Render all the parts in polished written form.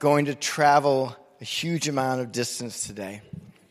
going to travel a huge amount of distance today.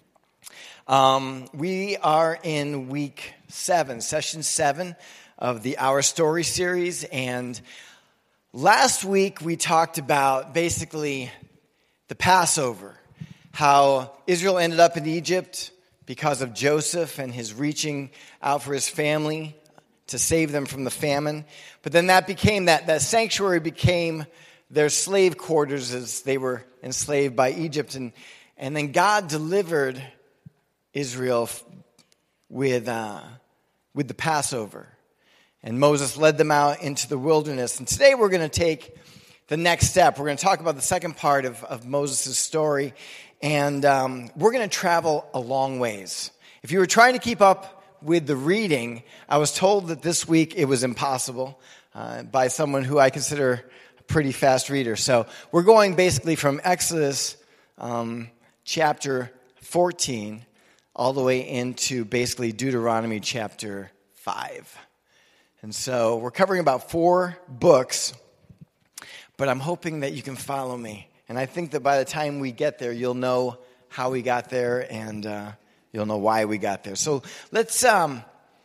We are in week 7, session 7 of the Our Story series, and last week we talked about basically the Passover, how Israel ended up in Egypt because of Joseph and his reaching out for his family to save them from the famine. But then that sanctuary became their slave quarters as they were enslaved by Egypt. And then God delivered Israel with the Passover. And Moses led them out into the wilderness. And today we're going to take the next step. We're going to talk about the second part of Moses' story. And we're going to travel a long ways. If you were trying to keep up with the reading, I was told that this week it was impossible by someone who I consider pretty fast reader. So we're going basically from Exodus chapter 14 all the way into basically Deuteronomy chapter 5. And so we're covering about 4 books, but I'm hoping that you can follow me. And I think that by the time we get there, you'll know how we got there and you'll know why we got there. So let's jump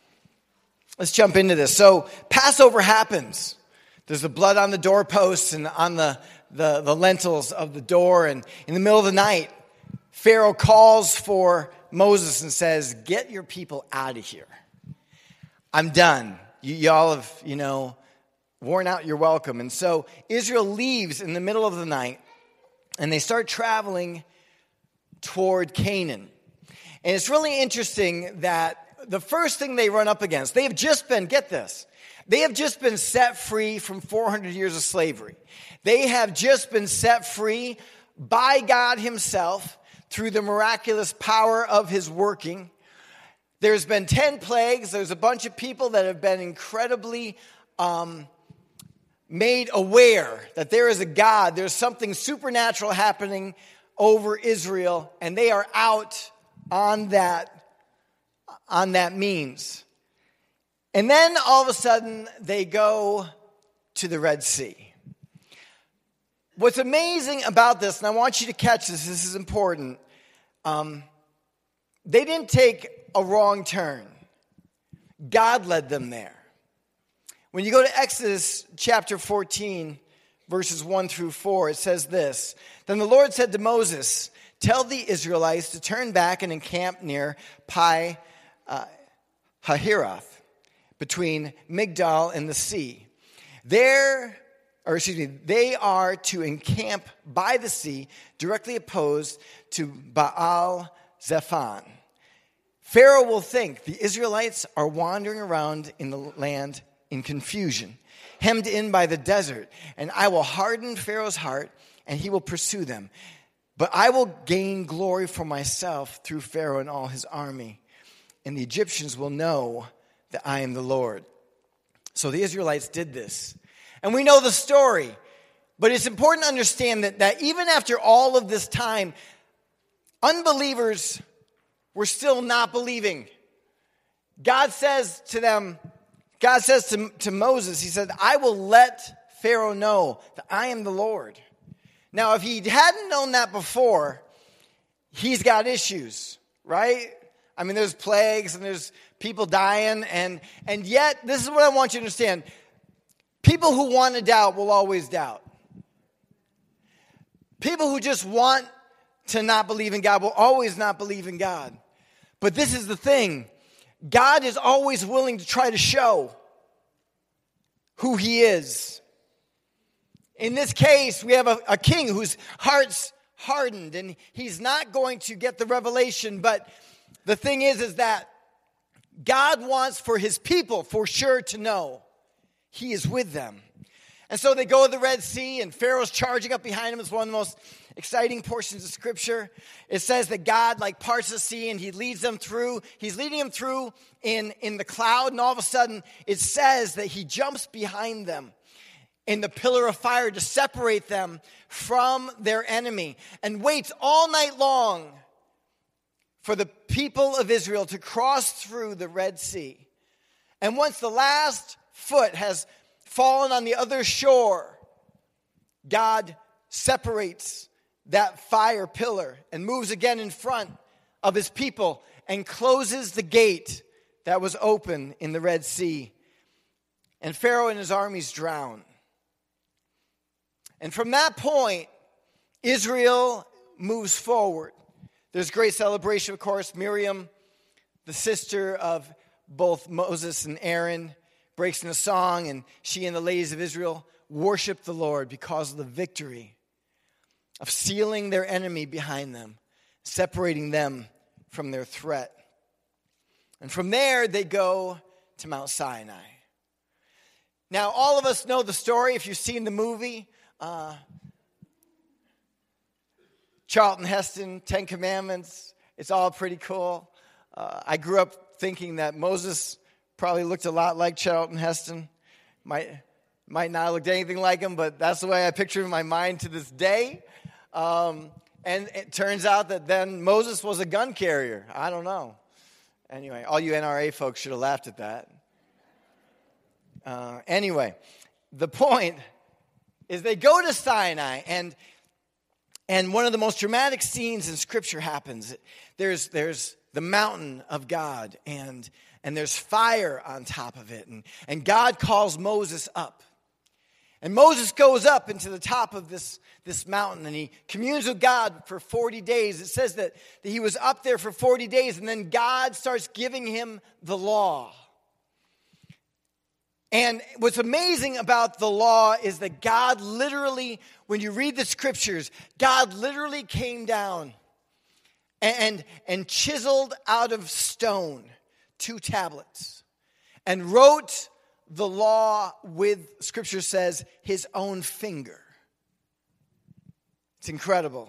into this. So Passover happens. There's the blood on the doorposts and on the lintels of the door. And in the middle of the night, Pharaoh calls for Moses and says, "Get your people out of here. I'm done. Y'all have, worn out your welcome." And so Israel leaves in the middle of the night, and they start traveling toward Canaan. And it's really interesting that the first thing they run up against, they have just been, get this, they have just been set free from 400 years of slavery. They have just been set free by God himself through the miraculous power of his working. There's been 10 plagues. There's a bunch of people that have been incredibly made aware that there is a God. There's something supernatural happening over Israel, and they are out on that means. And then all of a sudden, they go to the Red Sea. What's amazing about this, and I want you to catch this is important, they didn't take a wrong turn. God led them there. When you go to Exodus chapter 14, verses 1 through 4, it says this: "Then the Lord said to Moses, tell the Israelites to turn back and encamp near Pi Hahiroth, between Migdal and the sea. They are to encamp by the sea, directly opposed to Baal Zephon. Pharaoh will think the Israelites are wandering around in the land in confusion, hemmed in by the desert, and I will harden Pharaoh's heart, and he will pursue them. But I will gain glory for myself through Pharaoh and all his army, and the Egyptians will know that I am the Lord." So the Israelites did this. And we know the story. But it's important to understand that even after all of this time, unbelievers were still not believing. God says to them, God says to Moses, he said, "I will let Pharaoh know that I am the Lord." Now, if he hadn't known that before, he's got issues, right? I mean, there's plagues and there's people dying, and yet, this is what I want you to understand. People who want to doubt will always doubt. People who just want to not believe in God will always not believe in God. But this is the thing. God is always willing to try to show who he is. In this case, we have a king whose heart's hardened, and he's not going to get the revelation. But the thing is that God wants for his people for sure to know he is with them. And so they go to the Red Sea, and Pharaoh's charging up behind him. It's one of the most exciting portions of Scripture. It says that God parts the sea, and he leads them through. He's leading them through in the cloud, and all of a sudden it says that he jumps behind them in the pillar of fire to separate them from their enemy, and waits all night long for the people of Israel to cross through the Red Sea. And once the last foot has fallen on the other shore, God separates that fire pillar and moves again in front of his people and closes the gate that was open in the Red Sea. And Pharaoh and his armies drown. And from that point, Israel moves forward. There's great celebration, of course. Miriam, the sister of both Moses and Aaron, breaks into song, and she and the ladies of Israel worship the Lord because of the victory of sealing their enemy behind them, separating them from their threat. And from there, they go to Mount Sinai. Now, all of us know the story. If you've seen the movie, Charlton Heston, 10 Commandments, it's all pretty cool. I grew up thinking that Moses probably looked a lot like Charlton Heston. Might not have looked anything like him, but that's the way I picture him in my mind to this day. And it turns out that then Moses was a gun carrier. I don't know. Anyway, all you NRA folks should have laughed at that. Anyway, the point is they go to Sinai, and one of the most dramatic scenes in Scripture happens. There's the mountain of God, and there's fire on top of it, and God calls Moses up. And Moses goes up into the top of this mountain, and he communes with God for 40 days. It says that he was up there for 40 days, and then God starts giving him the law. And what's amazing about the law is that God literally, when you read the Scriptures, God literally came down and chiseled out of stone 2 tablets and wrote the law with, Scripture says, his own finger. It's incredible.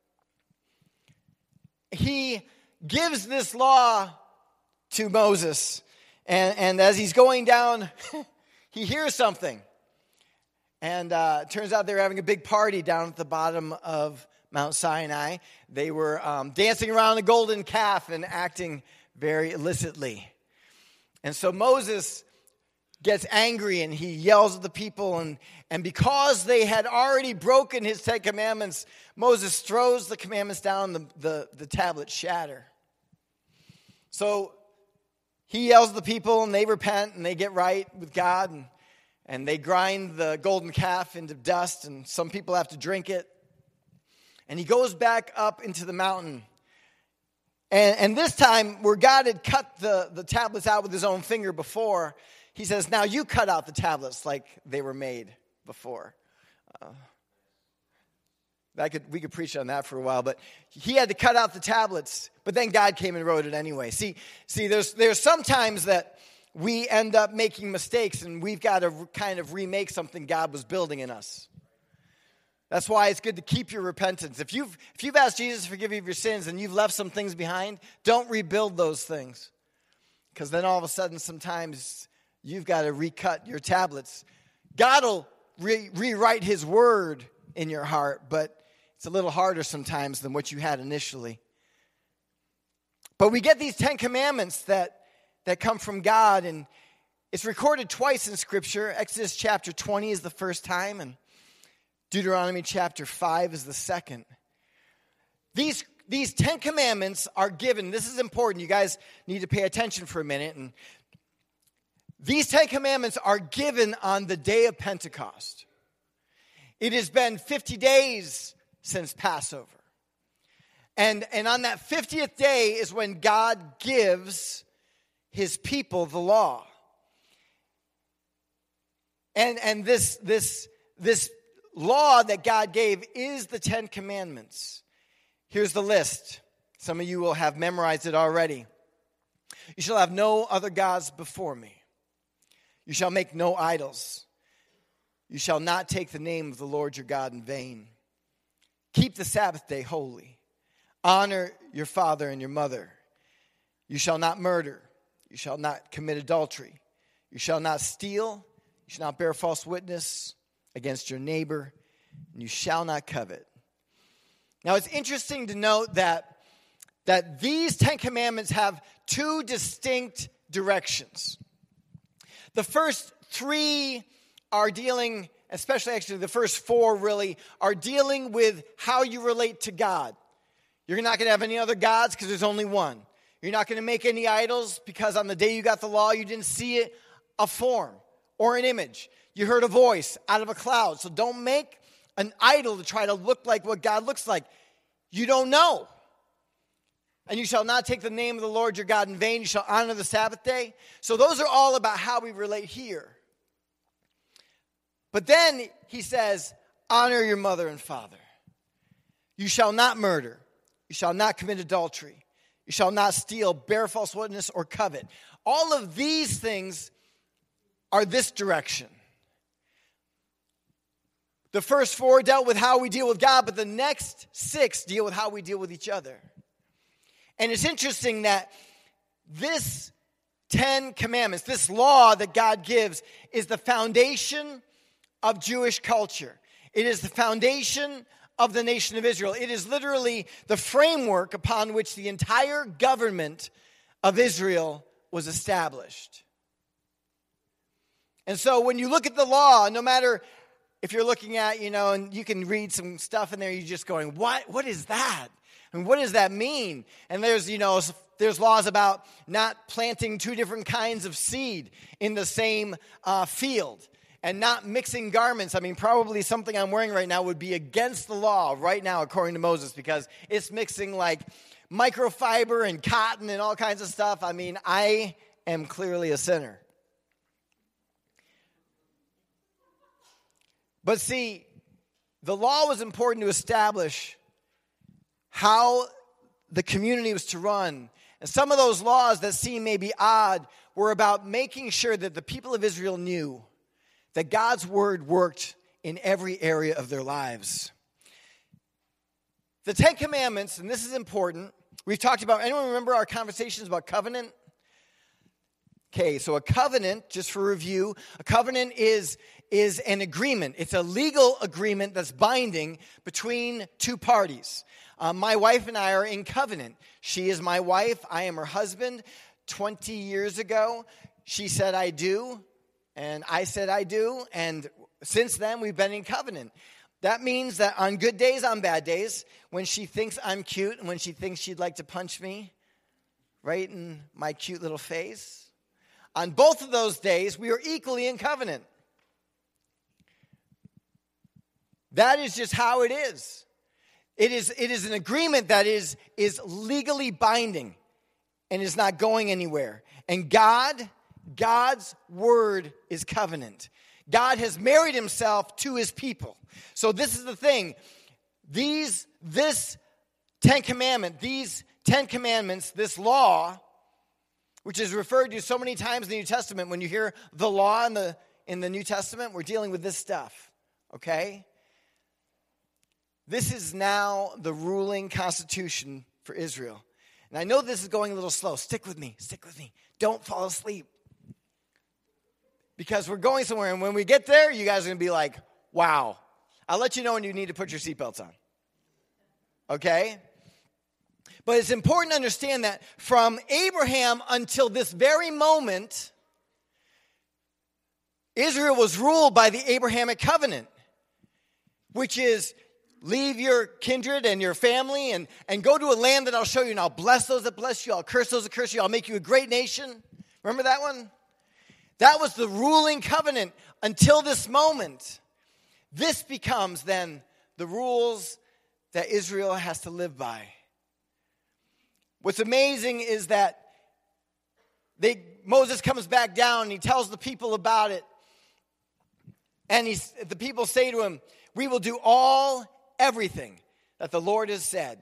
He gives this law to Moses, and as he's going down, he hears something. And it turns out they were having a big party down at the bottom of Mount Sinai. They were dancing around the golden calf and acting very illicitly. And so Moses gets angry and he yells at the people. And because they had already broken his 10 commandments, Moses throws the commandments down, the tablets shatter. So he yells at the people, and they repent, and they get right with God, and they grind the golden calf into dust, and some people have to drink it. And he goes back up into the mountain. And this time, where God had cut the tablets out with his own finger before, he says, now you cut out the tablets like they were made before. We could preach on that for a while, but he had to cut out the tablets, but then God came and wrote it anyway. See, there's sometimes that we end up making mistakes, and we've got to kind of remake something God was building in us. That's why it's good to keep your repentance. If you've asked Jesus to forgive you of your sins and you've left some things behind, don't rebuild those things. Because then all of a sudden, sometimes you've got to recut your tablets. God will rewrite his word in your heart, but it's a little harder sometimes than what you had initially. But we get these 10 commandments that come from God, and it's recorded twice in Scripture. Exodus chapter 20 is the first time, and Deuteronomy chapter 5 is the second. These 10 commandments are given. This is important. You guys need to pay attention for a minute. And these 10 commandments are given on the day of Pentecost. It has been 50 days since Passover. And on that 50th day is when God gives his people the law. And this law that God gave is the 10 commandments. Here's the list. Some of you will have memorized it already. You shall have no other gods before me. You shall make no idols. You shall not take the name of the Lord your God in vain. Keep the Sabbath day holy. Honor your father and your mother. You shall not murder. You shall not commit adultery. You shall not steal. You shall not bear false witness against your neighbor. And you shall not covet. Now it's interesting to note that these 10 commandments have 2 distinct directions. The first 3 are dealing especially actually the first 4 really, are dealing with how you relate to God. You're not going to have any other gods because there's only one. You're not going to make any idols because on the day you got the law, you didn't see it, a form or an image. You heard a voice out of a cloud. So don't make an idol to try to look like what God looks like. You don't know. And you shall not take the name of the Lord your God in vain. You shall honor the Sabbath day. So those are all about how we relate here. But then he says, honor your mother and father. You shall not murder. You shall not commit adultery. You shall not steal, bear false witness, or covet. All of these things are this direction. The first 4 dealt with how we deal with God, but the next 6 deal with how we deal with each other. And it's interesting that this 10 commandments, this law that God gives, is the foundation of Jewish culture. It is the foundation of the nation of Israel. It is literally the framework upon which the entire government of Israel was established. And so when you look at the law, no matter if you're looking at, and you can read some stuff in there, you're just going, what is that? And what does that mean? And there's laws about not planting 2 different kinds of seed in the same field. And not mixing garments. I mean, probably something I'm wearing right now would be against the law right now, according to Moses, because it's mixing like microfiber and cotton and all kinds of stuff. I mean, I am clearly a sinner. But see, the law was important to establish how the community was to run. And some of those laws that seem maybe odd were about making sure that the people of Israel knew that God's word worked in every area of their lives. The 10 Commandments, and this is important, we've talked about, anyone remember our conversations about covenant? Okay, so a covenant, just for review, a covenant is an agreement. It's a legal agreement that's binding between 2 parties. My wife and I are in covenant. She is my wife. I am her husband. 20 years ago, she said I do. And I said I do, and since then we've been in covenant. That means that on good days, on bad days, when she thinks I'm cute and when she thinks she'd like to punch me right in my cute little face, on both of those days, we are equally in covenant. That is just how it is. It is an agreement that is legally binding and is not going anywhere. And God's word is covenant. God has married himself to his people. So this is the thing. This 10 Commandments, this law, which is referred to so many times in the New Testament. When you hear the law in the New Testament, we're dealing with this stuff. Okay? This is now the ruling constitution for Israel. And I know this is going a little slow. Stick with me. Don't fall asleep. Because we're going somewhere, and when we get there, you guys are going to be like, wow. I'll let you know when you need to put your seatbelts on. Okay? But it's important to understand that from Abraham until this very moment, Israel was ruled by the Abrahamic covenant, which is leave your kindred and your family and go to a land that I'll show you, and I'll bless those that bless you, I'll curse those that curse you, I'll make you a great nation. Remember that one? That was the ruling covenant until this moment. This becomes then the rules that Israel has to live by. What's amazing is that Moses comes back down and he tells the people about it. And the people say to him, we will do everything that the Lord has said.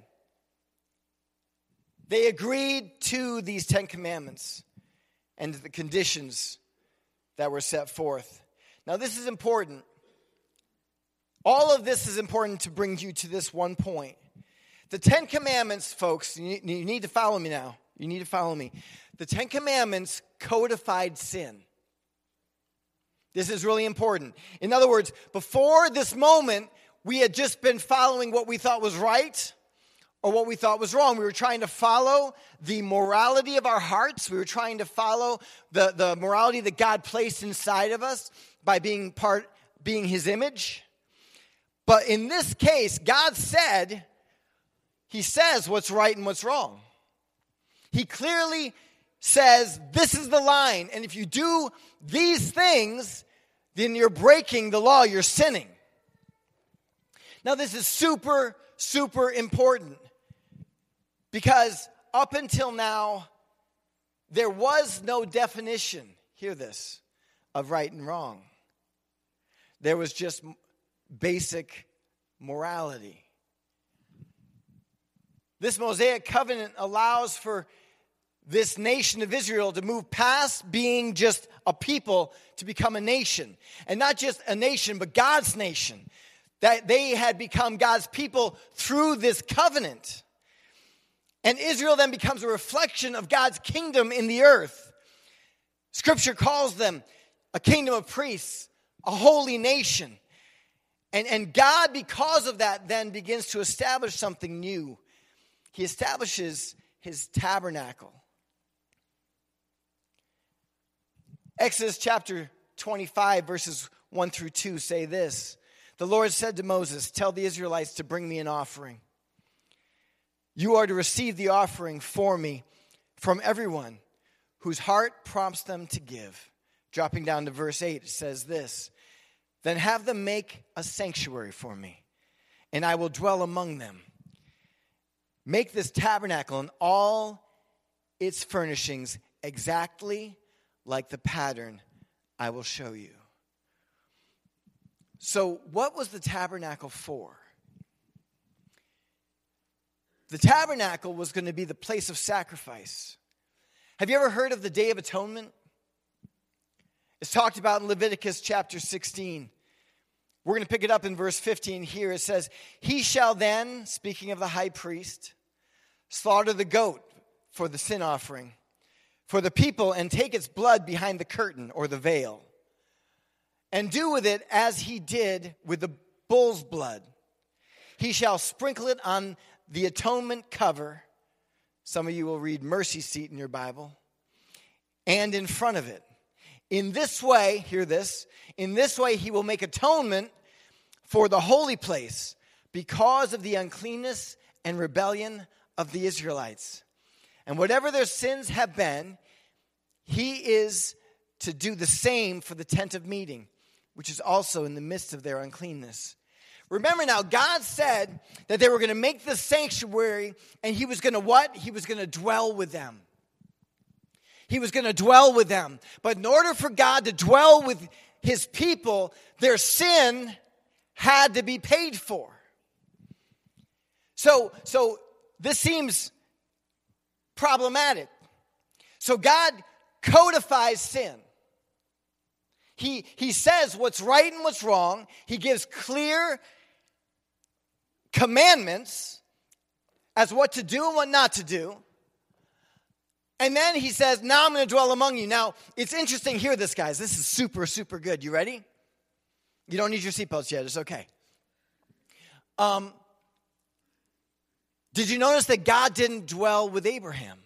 They agreed to these 10 commandments and the conditions that were set forth. Now this is important. All of this is important to bring you to this one point. The 10 Commandments, folks, you need to follow me now. You need to follow me. The 10 Commandments codified sin. This is really important. In other words, before this moment, we had just been following what we thought was right or what we thought was wrong. We were trying to follow the morality of our hearts. We were trying to follow the morality that God placed inside of us by being being his image. But in this case, God said, he says what's right and what's wrong. He clearly says, this is the line. And if you do these things, then you're breaking the law. You're sinning. Now, this is super, super important. Because up until now, there was no definition, hear this, of right and wrong. There was just basic morality. This Mosaic covenant allows for this nation of Israel to move past being just a people to become a nation. And not just a nation, but God's nation. That they had become God's people through this covenant. And Israel then becomes a reflection of God's kingdom in the earth. Scripture calls them a kingdom of priests, a holy nation. And God, because of that, then begins to establish something new. He establishes his tabernacle. Exodus chapter 25, verses 1 through 2 say this. The Lord said to Moses, tell the Israelites to bring me an offering. You are to receive the offering for me from everyone whose heart prompts them to give. Dropping down to verse 8, it says this. Then have them make a sanctuary for me, and I will dwell among them. Make this tabernacle and all its furnishings exactly like the pattern I will show you. So, what was the tabernacle for? The tabernacle was going to be the place of sacrifice. Have you ever heard of the Day of Atonement? It's talked about in Leviticus chapter 16. We're going to pick it up in verse 15 here. It says, he shall then, speaking of the high priest, slaughter the goat for the sin offering for the people and take its blood behind the curtain or the veil and do with it as he did with the bull's blood. He shall sprinkle it on the atonement cover. Some of you will read mercy seat in your Bible. And in front of it. In this way, hear this, in this way he will make atonement for the holy place because of the uncleanness and rebellion of the Israelites. And whatever their sins have been, he is to do the same for the tent of meeting, which is also in the midst of their uncleanness. Remember now, God said that they were going to make this sanctuary, and he was going to what? He was going to dwell with them. He was going to dwell with them. But in order for God to dwell with his people, their sin had to be paid for. So this seems problematic. So God codifies sin. He says what's right and what's wrong. He gives clear commandments as what to do and what not to do. And then he says, now I'm going to dwell among you. Now, it's interesting. Hear this, guys. This is super, super good. You ready? You don't need your seatbelts yet. It's okay. Did you notice that God didn't dwell with Abraham?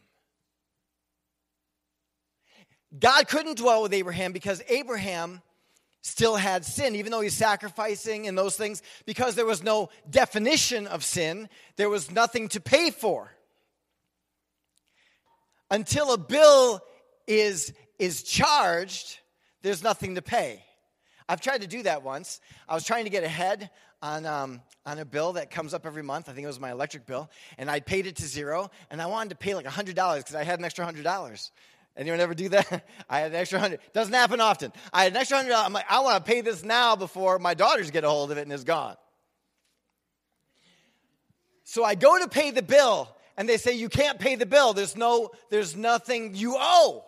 God couldn't dwell with Abraham because Abraham still had sin, even though he's sacrificing and those things, because there was no definition of sin. There was nothing to pay for. Until a bill is charged, there's nothing to pay. I've tried to do that once. I was trying to get ahead on a bill that comes up every month. I think it was my electric bill. And I paid it to zero. And I wanted to pay like $100 because I had an extra $100. Anyone ever do that? I had an extra $100. Doesn't happen often. I had an extra $100. I'm like, I want to pay this now before my daughters get a hold of it and it's gone. So I go to pay the bill. And they say, you can't pay the bill. There's nothing you owe.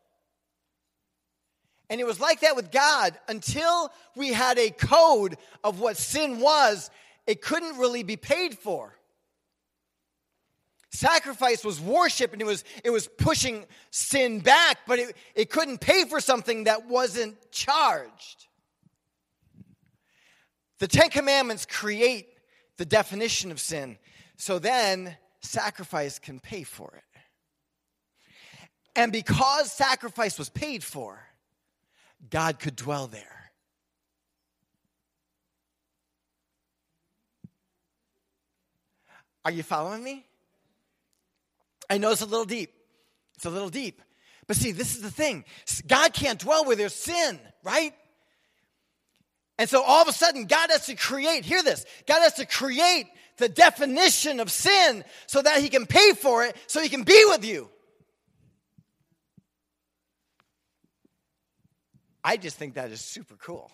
And it was like that with God. Until we had a code of what sin was, it couldn't really be paid for. Sacrifice was worship, and it was pushing sin back, but it couldn't pay for something that wasn't charged. The Ten Commandments create the definition of sin. So then sacrifice can pay for it. And because sacrifice was paid for, God could dwell there. Are you following me? I know it's a little deep. It's a little deep. But see, this is the thing. God can't dwell where there's sin, right? And so all of a sudden, God has to create, hear this, God has to create the definition of sin so that he can pay for it, so he can be with you. I just think that is super cool.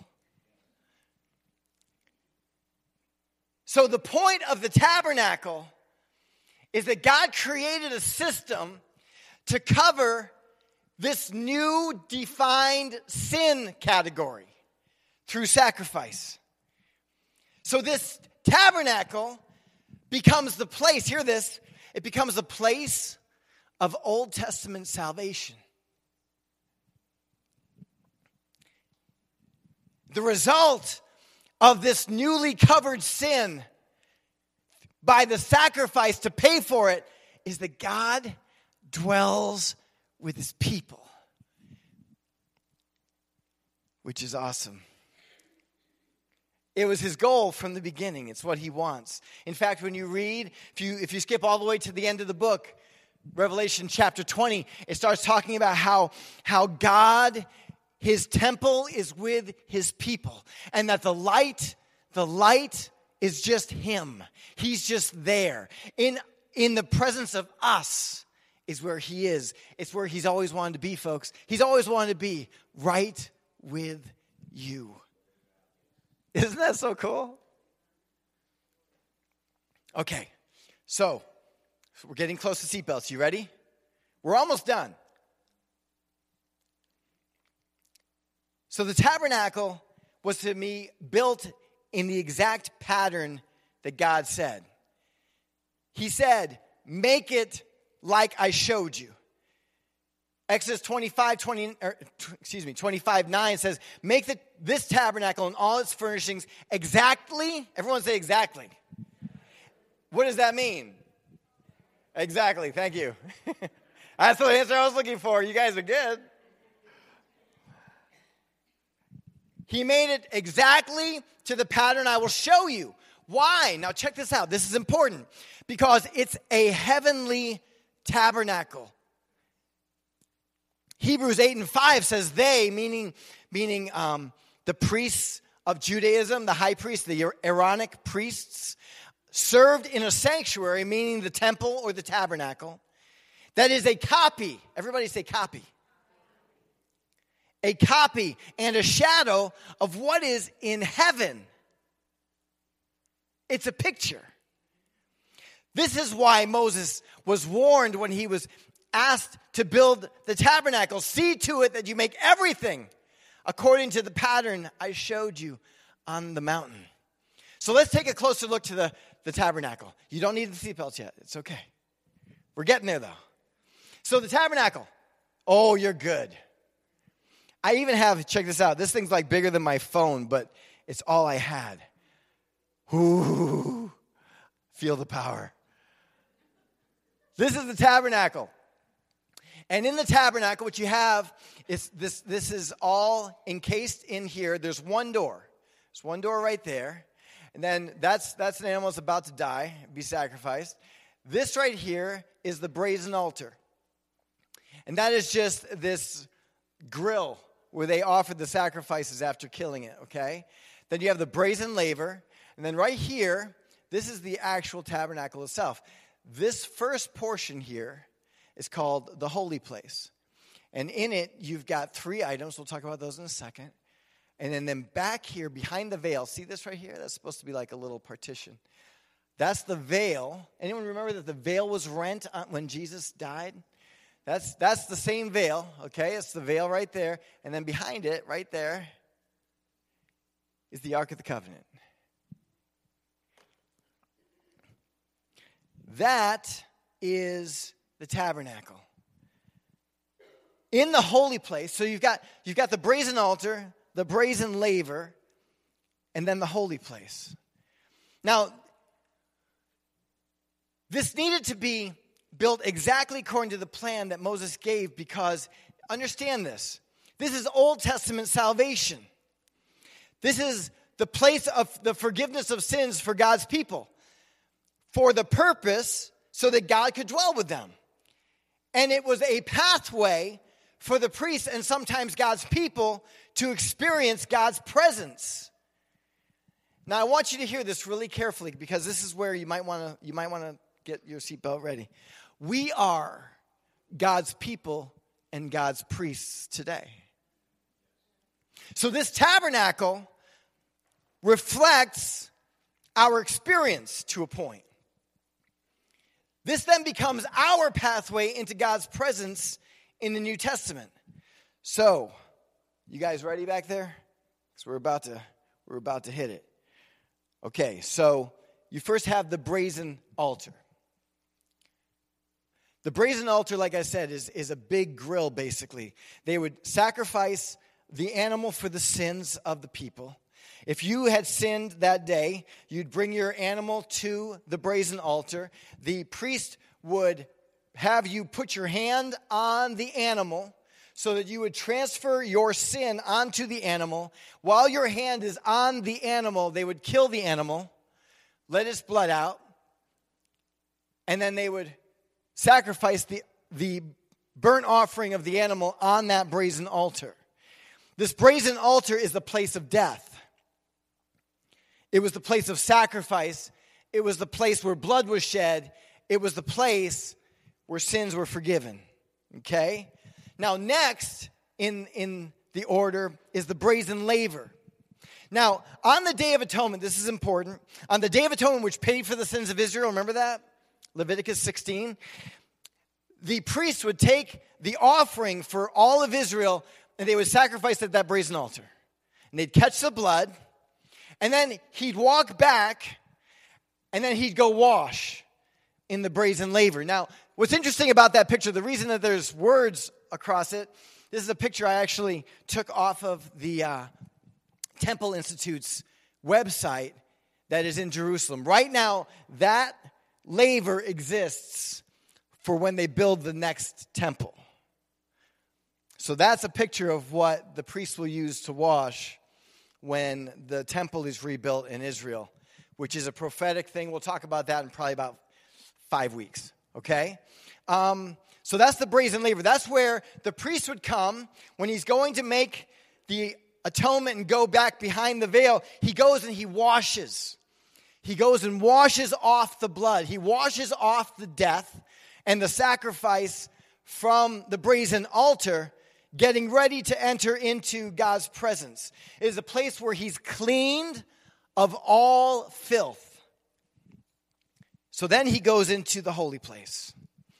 So the point of the tabernacle is that God created a system to cover this new defined sin category through sacrifice. So this tabernacle becomes the place, hear this, it becomes the place of Old Testament salvation. The result of this newly covered sin by the sacrifice to pay for it is that God dwells with his people, which is awesome. It was his goal from the beginning. It's what he wants. In fact, when you read, if you skip all the way to the end of the book, Revelation chapter 20, it starts talking about how God, his temple is with his people. And that the light is just him. He's just there. In the presence of us is where he is. It's where he's always wanted to be, folks. He's always wanted to be right with you. Isn't that so cool? Okay, so we're getting close to seatbelts. You ready? We're almost done. So the tabernacle was to be built in the exact pattern that God said. He said, make it like I showed you. Exodus 25:9 says, make this tabernacle and all its furnishings exactly, everyone say exactly. What does that mean? Exactly, thank you. That's the answer I was looking for. You guys are good. He made it exactly to the pattern I will show you. Why? Now check this out. This is important because it's a heavenly tabernacle. Hebrews 8:5 says they, meaning the priests of Judaism, the high priests, the Aaronic priests, served in a sanctuary, meaning the temple or the tabernacle, that is a copy. Everybody say copy. A copy and a shadow of what is in heaven. It's a picture. This is why Moses was warned when he was asked to build the tabernacle. See to it that you make everything according to the pattern I showed you on the mountain. So let's take a closer look to the tabernacle. You don't need the seatbelts yet. It's okay. We're getting there, though. So the tabernacle. Oh, you're good. I even have, check this out. This thing's like bigger than my phone, but it's all I had. Ooh, feel the power. This is the tabernacle. And in the tabernacle, what you have is this is all encased in here. There's one door. There's one door right there. And then that's an animal that's about to die, be sacrificed. This right here is the brazen altar. And that is just this grill where they offered the sacrifices after killing it, okay? Then you have the brazen laver. And then right here, this is the actual tabernacle itself. This first portion here is called the holy place. And in it, you've got 3 items. We'll talk about those in a second. And then back here, behind the veil, see this right here? That's supposed to be like a little partition. That's the veil. Anyone remember that the veil was rent when Jesus died? That's the same veil, okay? It's the veil right there. And then behind it, right there, is the Ark of the Covenant. That is the tabernacle. In the holy place, so you've got the brazen altar, the brazen laver, and then the holy place. Now, this needed to be built exactly according to the plan that Moses gave because, understand this, this is Old Testament salvation. This is the place of the forgiveness of sins for God's people. for the purpose so that God could dwell with them. And it was a pathway for the priests and sometimes God's people to experience God's presence. Now, I want you to hear this really carefully because this is where you might want to get your seatbelt ready. We are God's people and God's priests today. So this tabernacle reflects our experience to a point. This then becomes our pathway into God's presence in the New Testament. So, you guys ready back there? Because we're about to hit it. Okay, so you first have the brazen altar. The brazen altar, like I said, is a big grill, basically. They would sacrifice the animal for the sins of the people. If you had sinned that day, you'd bring your animal to the brazen altar. The priest would have you put your hand on the animal so that you would transfer your sin onto the animal. While your hand is on the animal, they would kill the animal, let its blood out, and then they would sacrifice the burnt offering of the animal on that brazen altar. This brazen altar is the place of death. It was the place of sacrifice. It was the place where blood was shed. It was the place where sins were forgiven. Okay? Now, next in the order is the brazen laver. Now, on the Day of Atonement, this is important. On the Day of Atonement, which paid for the sins of Israel, remember that? Leviticus 16. The priests would take the offering for all of Israel, and they would sacrifice at that brazen altar. And they'd catch the blood, and then he'd walk back, and then he'd go wash in the brazen laver. Now, what's interesting about that picture, the reason that there's words across it, this is a picture I actually took off of the Temple Institute's website that is in Jerusalem. Right now, that laver exists for when they build the next temple. So that's a picture of what the priests will use to wash when the temple is rebuilt in Israel, which is a prophetic thing. We'll talk about that in probably about 5 weeks, okay? So that's the brazen laver. That's where the priest would come when he's going to make the atonement and go back behind the veil. He goes and he washes. He goes and washes off the blood. He washes off the death and the sacrifice from the brazen altar, getting ready to enter into God's presence. It is a place where he's cleaned of all filth. So then he goes into the holy place.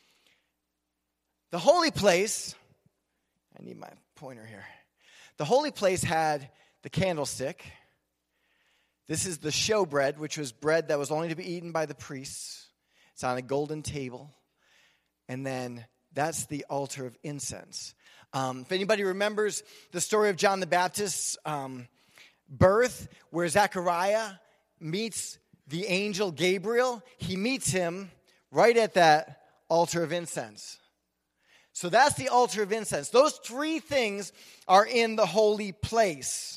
The holy place, I need my pointer here. The holy place had the candlestick. This is the showbread, which was bread that was only to be eaten by the priests. It's on a golden table. And then that's the altar of incense. If anybody remembers the story of John the Baptist's birth, where Zechariah meets the angel Gabriel, he meets him right at that altar of incense. So that's the altar of incense. Those three things are in the holy place.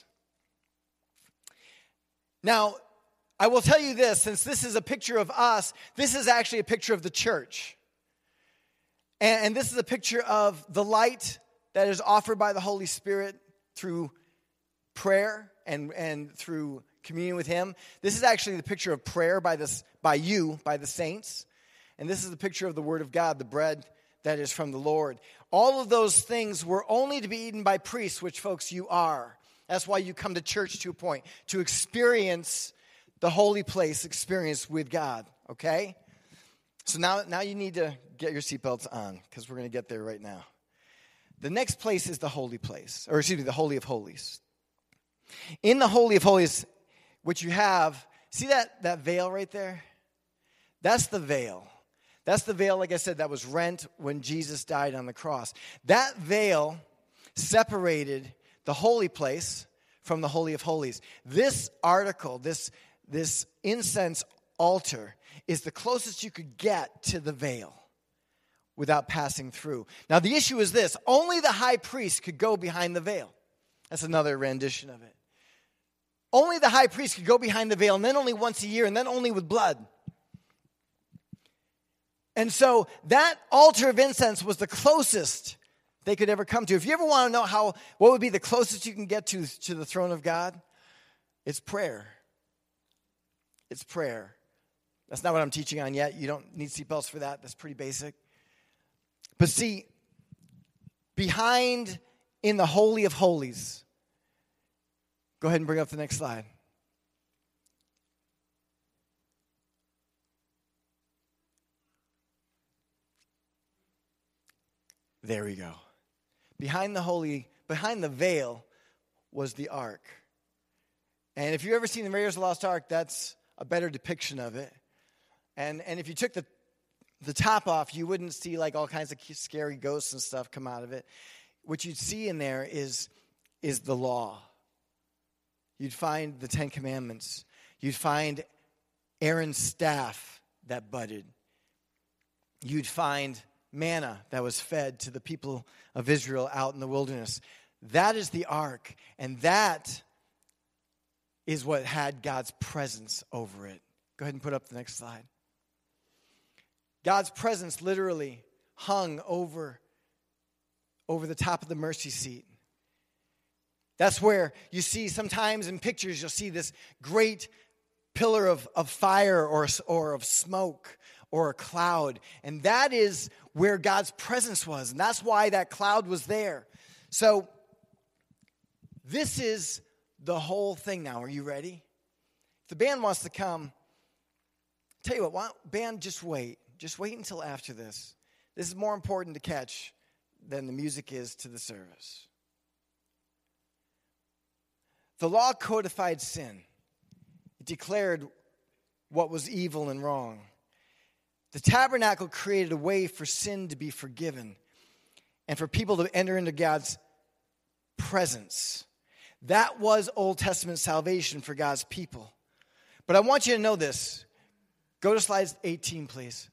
Now, I will tell you this, since this is a picture of us, this is actually a picture of the church. And this is a picture of the light that is offered by the Holy Spirit through prayer and through communion with Him. This is actually the picture of prayer by the saints. And this is the picture of the Word of God, the bread that is from the Lord. All of those things were only to be eaten by priests, which, folks, you are. That's why you come to church to a point, to experience the holy place experience with God, okay? So now you need to get your seatbelts on, because we're going to get there right now. The next place is the holy place, the Holy of Holies. In the Holy of Holies, which you have, see that veil right there? That's the veil. That's the veil, like I said, that was rent when Jesus died on the cross. That veil separated the holy place from the Holy of Holies. This article, this incense altar, is the closest you could get to the veil without passing through. Now, the issue is this. Only the high priest could go behind the veil. That's another rendition of it. Only the high priest could go behind the veil, and then only once a year, and then only with blood. And so that altar of incense was the closest they could ever come to. If you ever want to know what would be the closest you can get to the throne of God, it's prayer. It's prayer. That's not what I'm teaching on yet. You don't need seatbelts for that. That's pretty basic. But see, behind in the Holy of Holies, go ahead and bring up the next slide. There we go. Behind the veil was the ark. And if you've ever seen the Raiders of the Lost Ark, that's a better depiction of it. And if you took the top off, you wouldn't see like all kinds of scary ghosts and stuff come out of it. What you'd see in there is the law. You'd find the Ten Commandments. You'd find Aaron's staff that budded. You'd find manna that was fed to the people of Israel out in the wilderness. That is the ark, and that is what had God's presence over it. Go ahead and put up the next slide. God's presence literally hung over the top of the mercy seat. That's where you see sometimes in pictures, you'll see this great pillar of fire or of smoke or a cloud. And that is where God's presence was. And that's why that cloud was there. So this is the whole thing now. Are you ready? If the band wants to come, tell you what, band, just wait. Just wait until after this. This is more important to catch than the music is to the service. The law codified sin. It declared what was evil and wrong. The tabernacle created a way for sin to be forgiven and for people to enter into God's presence. That was Old Testament salvation for God's people. But I want you to know this. Go to slide 18, please.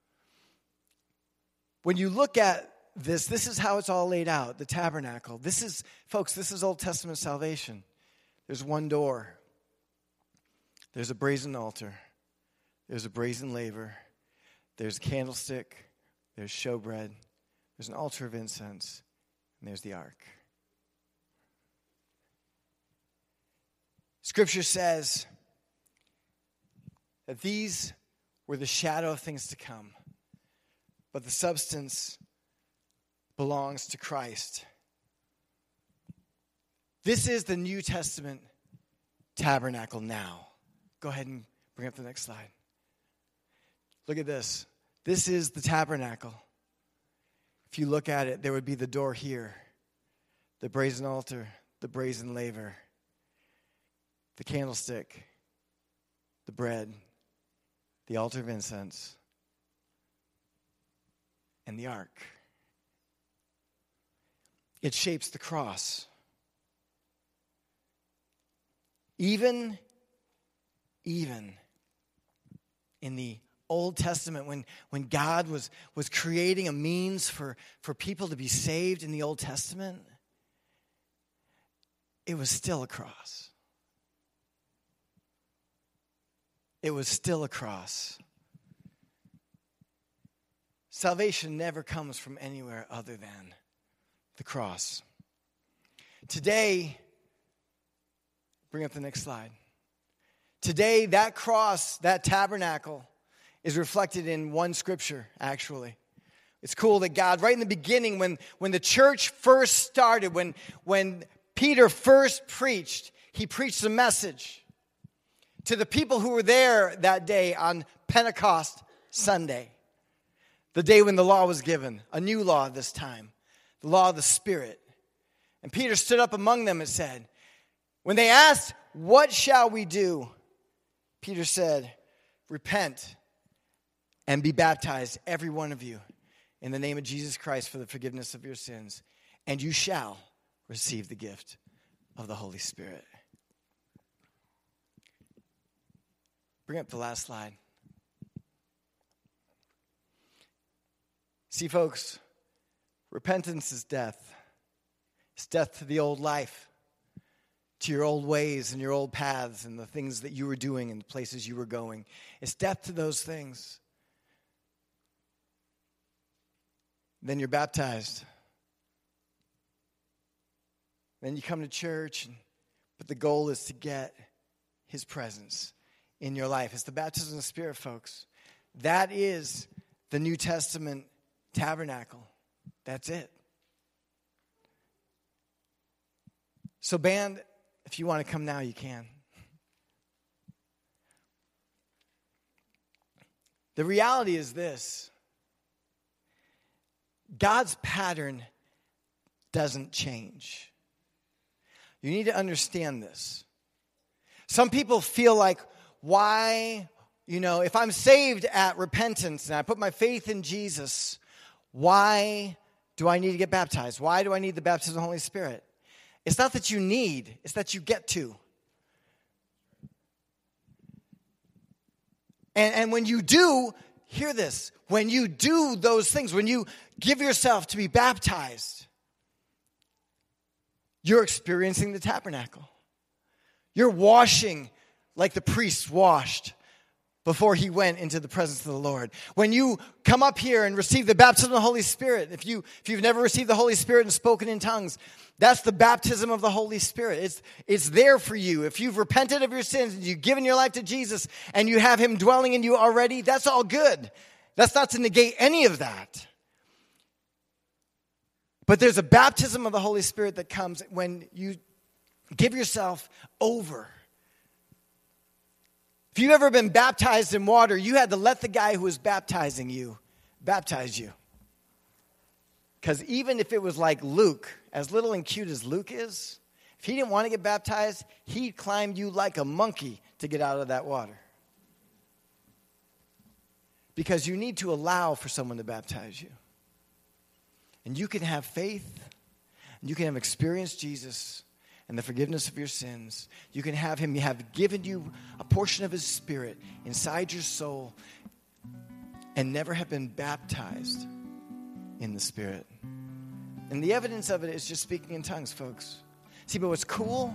When you look at this is how it's all laid out, the tabernacle. This is Old Testament salvation. There's one door. There's a brazen altar. There's a brazen laver. There's a candlestick. There's showbread. There's an altar of incense. And there's the ark. Scripture says that these were the shadow of things to come, but the substance belongs to Christ. This is the New Testament tabernacle now. Go ahead and bring up the next slide. Look at this. This is the tabernacle. If you look at it, there would be the door here, the brazen altar, the brazen laver, the candlestick, the bread, the altar of incense, and the ark. It shapes the cross. Even in the Old Testament, when God was creating a means for people to be saved in the Old Testament, it was still a cross. It was still a cross. Salvation never comes from anywhere other than the cross. Today, bring up the next slide. Today, that cross, that tabernacle, is reflected in one scripture, actually. It's cool that God, right in the beginning, when the church first started, when Peter first preached, he preached a message to the people who were there that day on Pentecost Sunday, the day when the law was given, a new law this time, the law of the Spirit. And Peter stood up among them and said, when they asked, what shall we do? Peter said, repent and be baptized, every one of you, in the name of Jesus Christ for the forgiveness of your sins, and you shall receive the gift of the Holy Spirit. Bring up the last slide. See, folks, repentance is death. It's death to the old life, to your old ways and your old paths and the things that you were doing and the places you were going. It's death to those things. Then you're baptized. Then you come to church, but the goal is to get his presence in your life. It's the baptism of the Spirit, folks. That is the New Testament tabernacle. That's it. So band, if you want to come now, you can. The reality is this. God's pattern doesn't change. You need to understand this. Some people feel like, why, if I'm saved at repentance and I put my faith in Jesus, why do I need to get baptized? Why do I need the baptism of the Holy Spirit? It's not that you need, it's that you get to. And when you do, hear this, when you do those things, when you give yourself to be baptized, you're experiencing the tabernacle. You're washing like the priest washed before he went into the presence of the Lord. When you come up here and receive the baptism of the Holy Spirit, if you've never received the Holy Spirit and spoken in tongues, that's the baptism of the Holy Spirit. It's there for you. If you've repented of your sins and you've given your life to Jesus and you have him dwelling in you already, that's all good. That's not to negate any of that. But there's a baptism of the Holy Spirit that comes when you give yourself over. If you've ever been baptized in water, you had to let the guy who was baptizing you baptize you. Because even if it was like Luke, as little and cute as Luke is, if he didn't want to get baptized, he climbed you like a monkey to get out of that water. Because you need to allow for someone to baptize you. And you can have faith, and you can have experienced Jesus and the forgiveness of your sins. You can have him have given you a portion of his Spirit inside your soul and never have been baptized in the Spirit. And the evidence of it is just speaking in tongues, folks. See, but what's cool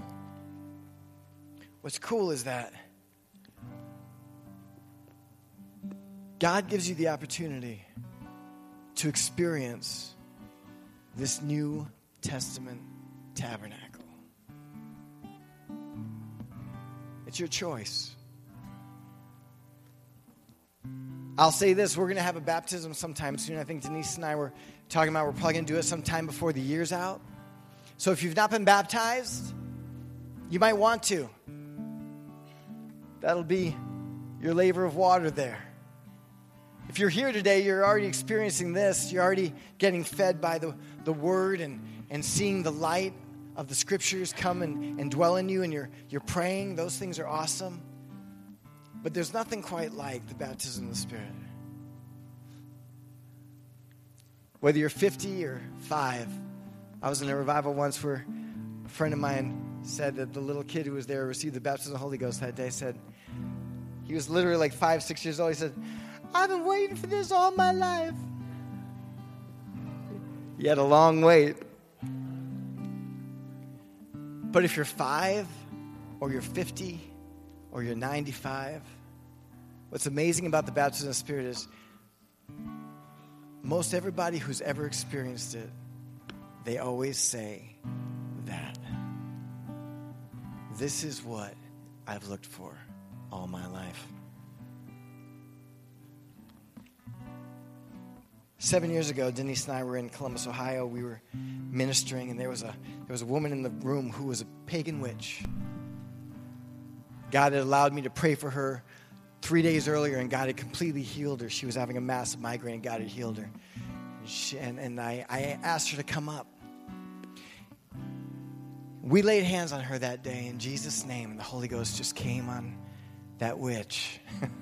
is that God gives you the opportunity to experience this New Testament tabernacle. It's your choice. I'll say this, we're going to have a baptism sometime soon. I think Denise and I were talking about we're probably going to do it sometime before the year's out. So if you've not been baptized, you might want to. That'll be your laver of water there. If you're here today, you're already experiencing this. You're already getting fed by the Word and seeing the light of the Scriptures come and dwell in you, and you're praying. Those things are awesome. But there's nothing quite like the baptism of the Spirit. Whether you're 50 or 5, I was in a revival once where a friend of mine said that the little kid who was there received the baptism of the Holy Ghost that day. Said he was literally like 5, 6 years old. He said, "I've been waiting for this all my life." He had a long wait. But if you're 5 or you're 50 or you're 95, what's amazing about the baptism of the Spirit is most everybody who's ever experienced it, they always say that. This is what I've looked for all my life. 7 years ago, Denise and I were in Columbus, Ohio. We were ministering, and there was a woman in the room who was a pagan witch. God had allowed me to pray for her 3 days earlier, and God had completely healed her. She was having a massive migraine, and God had healed her. And I asked her to come up. We laid hands on her that day in Jesus' name, and the Holy Ghost just came on that witch.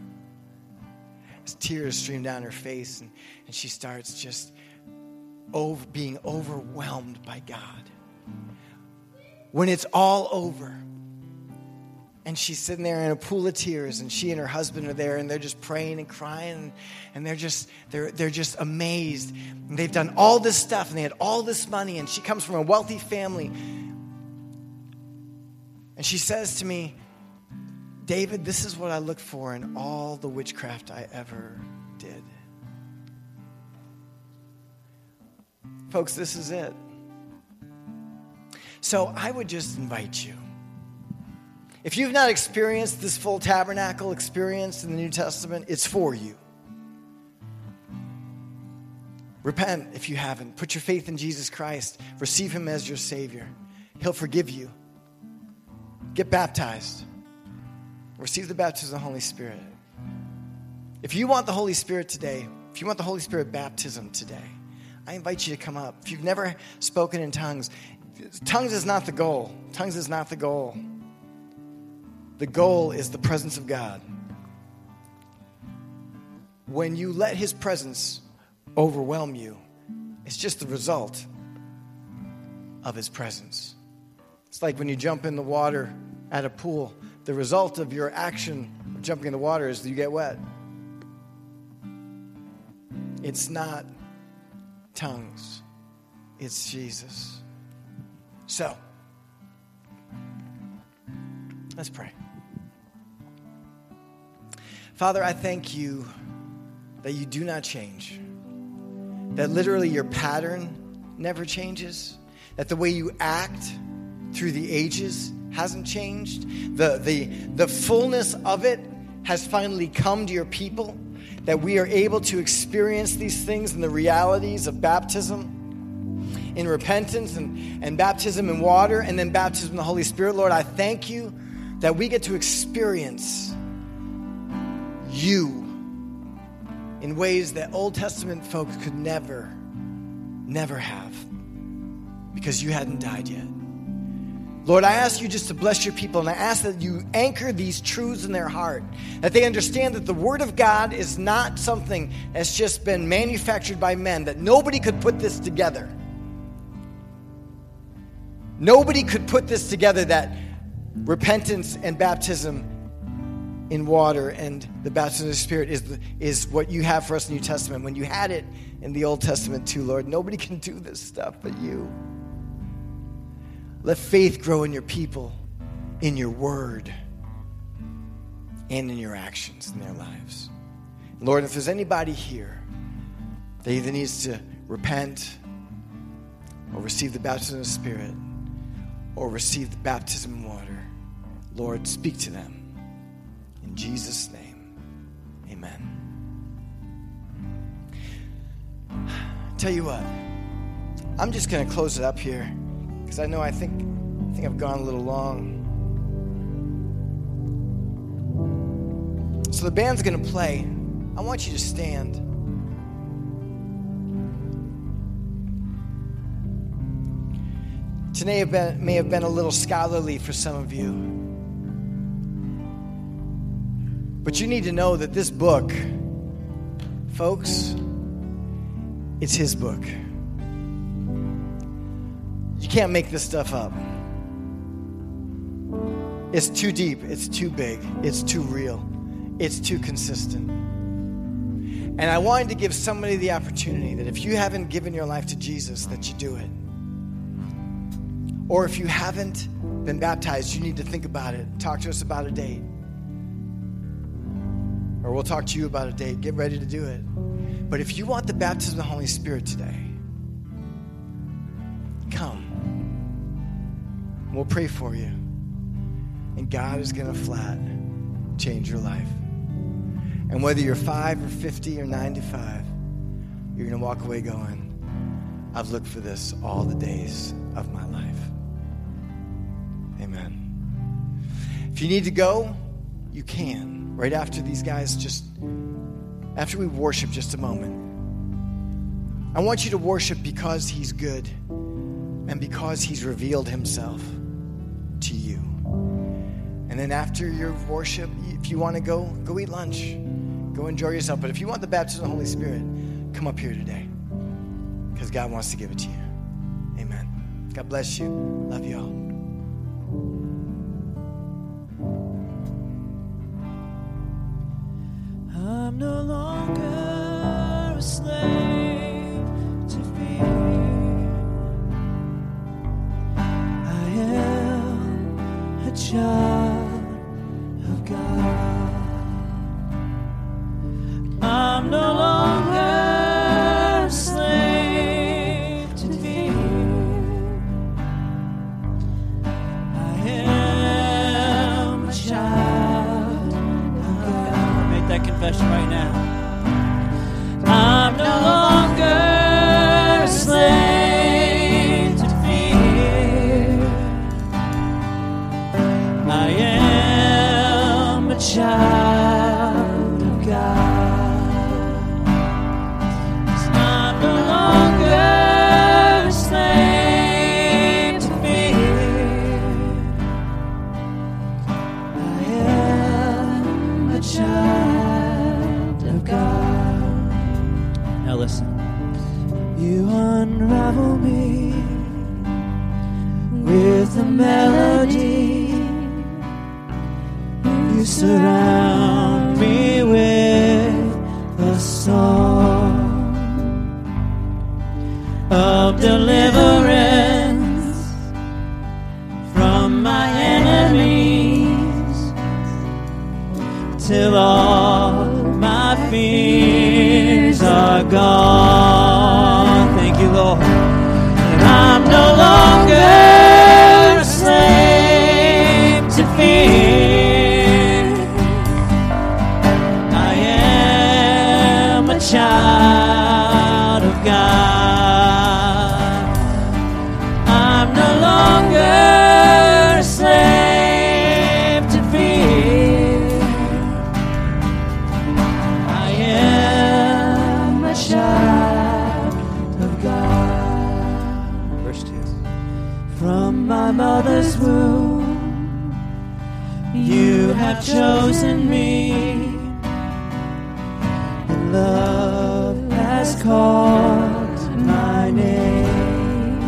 Tears streamed down her face, and she starts just being overwhelmed by God. When it's all over, and she's sitting there in a pool of tears, and she and her husband are there, and they're just praying and crying, and they're just amazed. And they've done all this stuff, and they had all this money, and she comes from a wealthy family. And she says to me, "David, this is what I looked for in all the witchcraft I ever did. Folks, this is it. So I would just invite you. If you've not experienced this full tabernacle experience in the New Testament, it's for you. Repent if you haven't. Put your faith in Jesus Christ. Receive him as your Savior. He'll forgive you. Get baptized. Receive the baptism of the Holy Spirit. If you want the Holy Spirit today, if you want the Holy Spirit baptism today, I invite you to come up. If you've never spoken in tongues, tongues is not the goal. Tongues is not the goal. The goal is the presence of God. When you let his presence overwhelm you, it's just the result of his presence. It's like when you jump in the water at a pool. The result of your action of jumping in the water is that you get wet. It's not tongues. It's Jesus. So, let's pray. Father, I thank you that you do not change. That literally your pattern never changes. That the way you act through the ages hasn't changed. The fullness of it has finally come to your people. That we are able to experience these things in the realities of baptism, in repentance and baptism in water, and then baptism in the Holy Spirit. Lord, I thank you that we get to experience you in ways that Old Testament folks could never have, because you hadn't died yet. Lord, I ask you just to bless your people, and I ask that you anchor these truths in their heart, that they understand that the Word of God is not something that's just been manufactured by men, that nobody could put this together. Nobody could put this together, that repentance and baptism in water and the baptism of the Spirit is what you have for us in the New Testament. When you had it in the Old Testament too, Lord, nobody can do this stuff but you. Let faith grow in your people, in your word, and in your actions in their lives. Lord, if there's anybody here that either needs to repent or receive the baptism of the Spirit or receive the baptism in water, Lord, speak to them. In Jesus' name, amen. Tell you what, I'm just going to close it up here because I think I've gone a little long. So the band's going to play. I want you to stand. Today may have been a little scholarly for some of you. But you need to know that this book, folks, it's his book. You can't make this stuff up. It's too deep. It's too big. It's too real. It's too consistent. And I wanted to give somebody the opportunity that if you haven't given your life to Jesus, that you do it. Or if you haven't been baptized, you need to think about it. Talk to us about a date. Or we'll talk to you about a date. Get ready to do it. But if you want the baptism of the Holy Spirit today, come. We'll pray for you. And God is going to flat change your life. And whether you're 5 or 50 or 95, you're going to walk away going, I've looked for this all the days of my life. Amen. If you need to go, you can. Right after these guys, after we worship just a moment. I want you to worship because he's good and because he's revealed himself to you. And then after your worship, if you want to go eat lunch. Go enjoy yourself. But if you want the baptism of the Holy Spirit, come up here today because God wants to give it to you. Amen. God bless you. Love you all. I'm no longer a slave to fear. I am a child of God. I'm no longer a slave to listen. You unravel me with a melody. You surround me with a song of deliverance from my enemies, till all my fears are gone. Thank you, Lord. And I'm no longer a slave to fear. I am a child of God. I'm no longer a slave to fear. I am a child of God. Verse 2. From my mother's womb, you have chosen me, and love has called my name.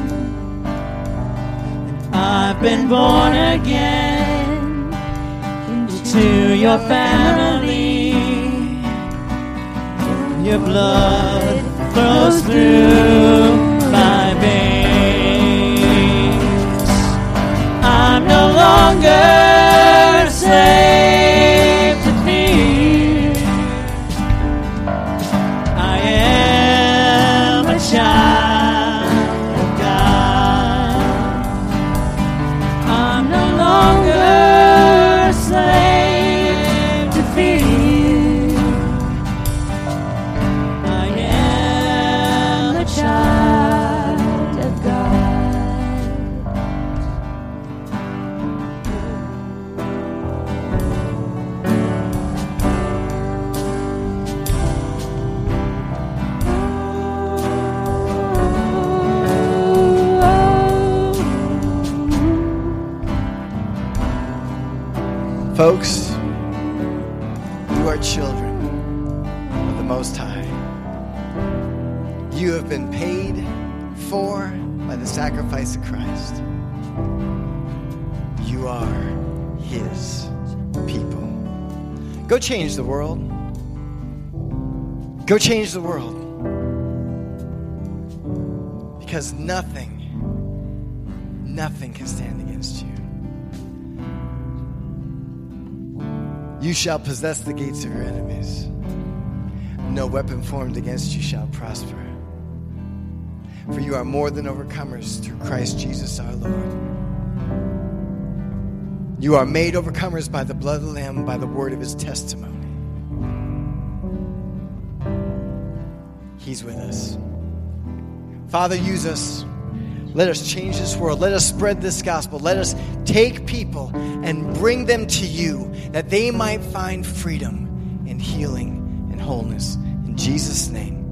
And I've been born again into your family. Your blood flows through my veins. I'm no longer a slave to fear. I am a child of God. I'm no longer a slave to fear. I am a child of God. Folks, you are children of the Most High. You have been paid for by the sacrifice of Christ. You are His people. Go change the world. Go change the world. Because nothing can stand against you. You shall possess the gates of your enemies. No weapon formed against you shall prosper. For you are more than overcomers through Christ Jesus our Lord. You are made overcomers by the blood of the Lamb, by the word of His testimony. He's with us. Father, use us. Let us change this world. Let us spread this gospel. Let us take people and bring them to you, that they might find freedom and healing and wholeness. In Jesus' name.